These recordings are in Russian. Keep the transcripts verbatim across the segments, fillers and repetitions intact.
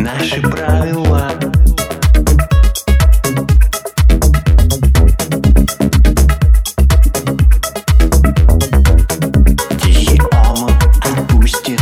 наши правила. Тихий омут отпустит.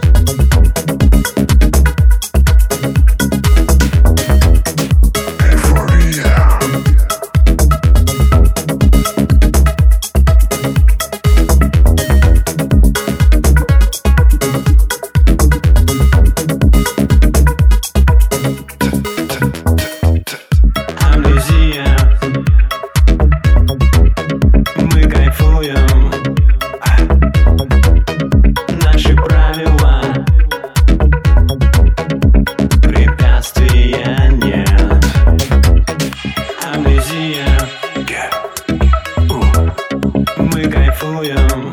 Мы кайфуем.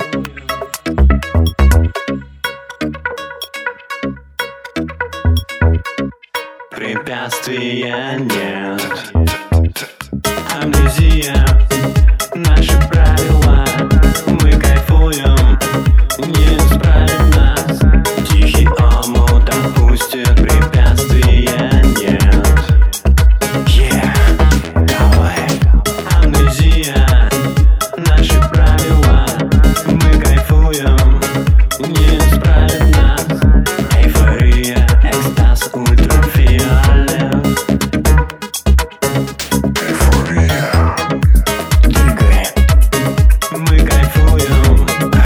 Препятствия нет. Амнезия, наши правила. Мы кайфуем, не исправит нас. Тихий омут отпустит, препятствия нет. Yeah, давай. Амнезия, наши правила. Мы кайфуем, не исправит нас. Эйфория, экстаз, ультрафиолет. Эйфория. Двигай. Мы кайфуем.